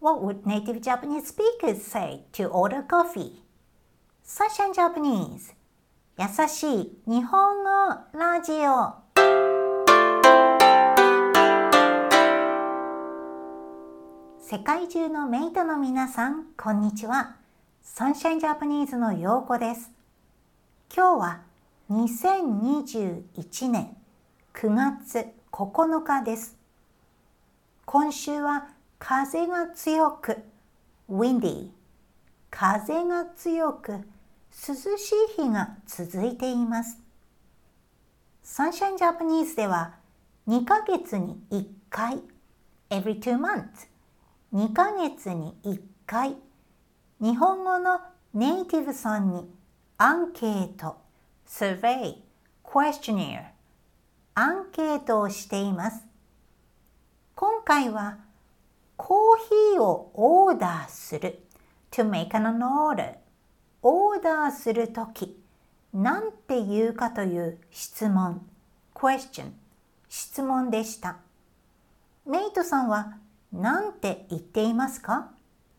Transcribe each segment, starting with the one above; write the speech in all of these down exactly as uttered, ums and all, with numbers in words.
What would native Japanese speakers say to order coffee? Sunshine Japanese 優しい日本語ラジオ。世界中のメイトの皆さん、こんにちは。Sunshine Japanese のようこです。今日はにせんにじゅういちねんくがつここのかです。今週は風が強く windy 風が強く涼しい日が続いています。Sunshine Japanese ではにかげつにいっかい every two months にかげつにいっかい日本語のネイティブさんにアンケート survey questionnaire アンケートをしています。今回はコーヒーをオーダーする to make an order オーダーするとき何て言うかという質問 question 質問でした。メイトさんは何て言っていますか？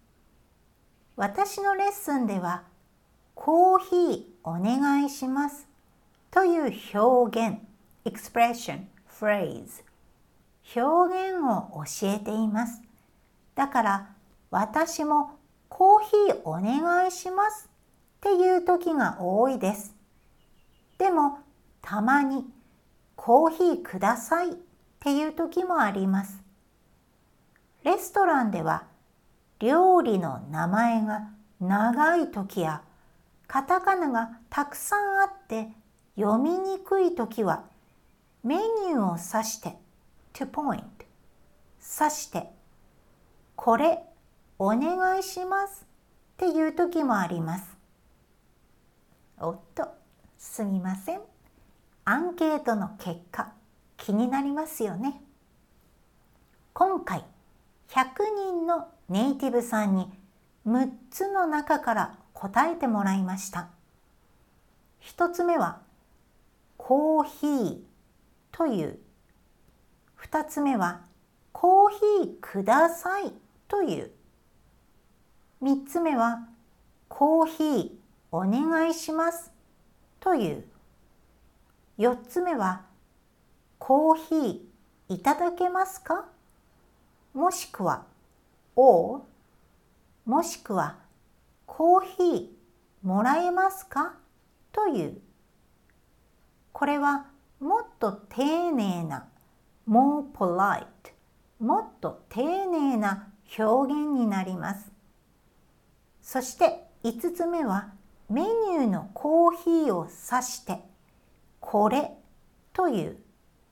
私のレッスンではコーヒーお願いしますという表現 expression phrase 表現を教えています。だから私もコーヒーお願いしますっていう時が多いです。でもたまにコーヒーくださいっていう時もあります。レストランでは料理の名前が長い時やカタカナがたくさんあって読みにくい時はメニューを指して to point 指してこれお願いしますっていう時もあります。おっと、すみません。アンケートの結果、気になりますよね。今回、ひゃくにんのネイティブさんにむっつの中から答えてもらいました。ひとつめは、コーヒーという。ふたつめは、コーヒーくださいという。みっつめは、コーヒーお願いしますという。よっつめは、コーヒーいただけますか？もしくは、or もしくは、コーヒーもらえますか？という。これはもっと丁寧な、more polite、もっと丁寧な表現になります。そしていつつめはメニューのコーヒーを指してこれという。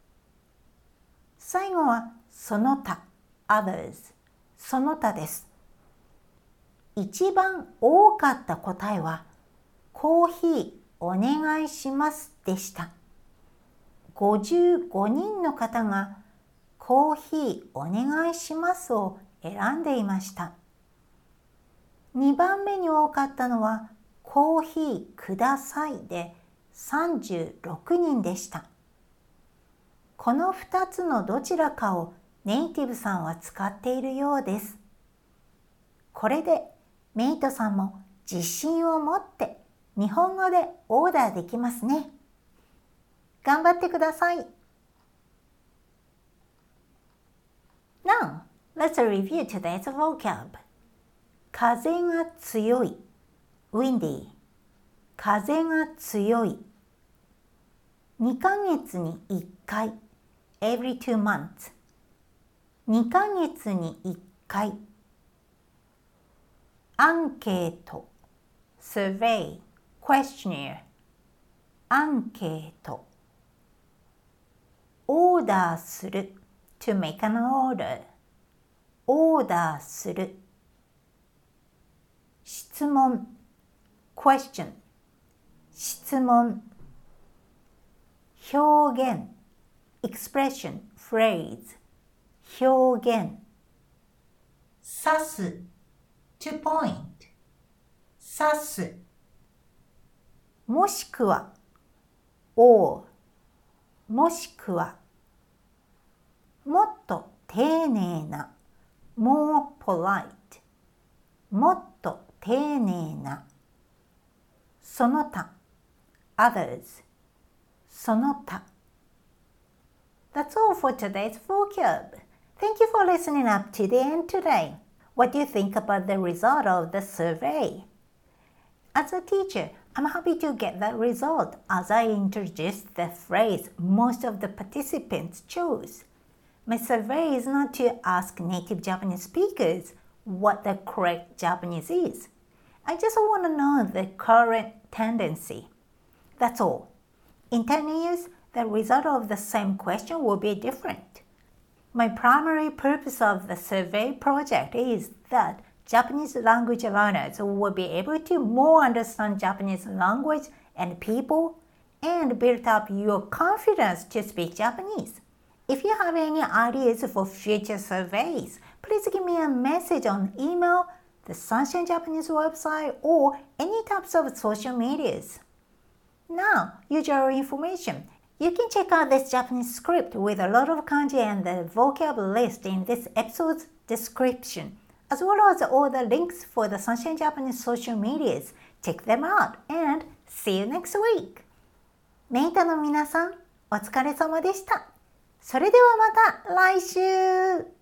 最後はその他 others その他です。一番多かった答えはコーヒーお願いしますでした。ごじゅうごにんの方がコーヒーお願いしますを選んでいました。にばんめに多かったのはコーヒーくださいでさんじゅうろくにんでした。このふたつのどちらかをネイティブさんは使っているようです。これでメイトさんも自信を持って日本語でオーダーできますね。頑張ってください。Now, let's review today's vocab. 風が強い windy 風が強いにかげつにいっかい every two months にかげつにいっかいアンケート survey questionnaire アンケートオーダーする to make an order オーダーする質問 question 質問表現 expression phrase 表現指す to point 指すもしくは or もしくはもっと丁寧な more polite もっと丁寧なその他 others その他 That's all for today's vocab. Thank you for listening up to the end today. What do you think about the result of the survey? As a teacher, I'm happy to get that result as I introduced the phrase most of the participants chose. My survey is not to ask native Japanese speakers what the correct Japanese is. I just want to know the current tendency. That's all. In ten years, the result of the same question will be different. My primary purpose of the survey project is that Japanese language learners will be able to more understand Japanese language and people and build up your confidence to speak Japanese. If you have any ideas for future surveys, please give me a message on email, the Sunshine Japanese website, or any types of social medias. Now, usual information. You can check out this Japanese script with a lot of kanji and the vocab list in this episode's description, as well as all the links for the Sunshine Japanese social medias. Check them out and see you next week! メイタの皆さん、お疲れ様でした。それではまた来週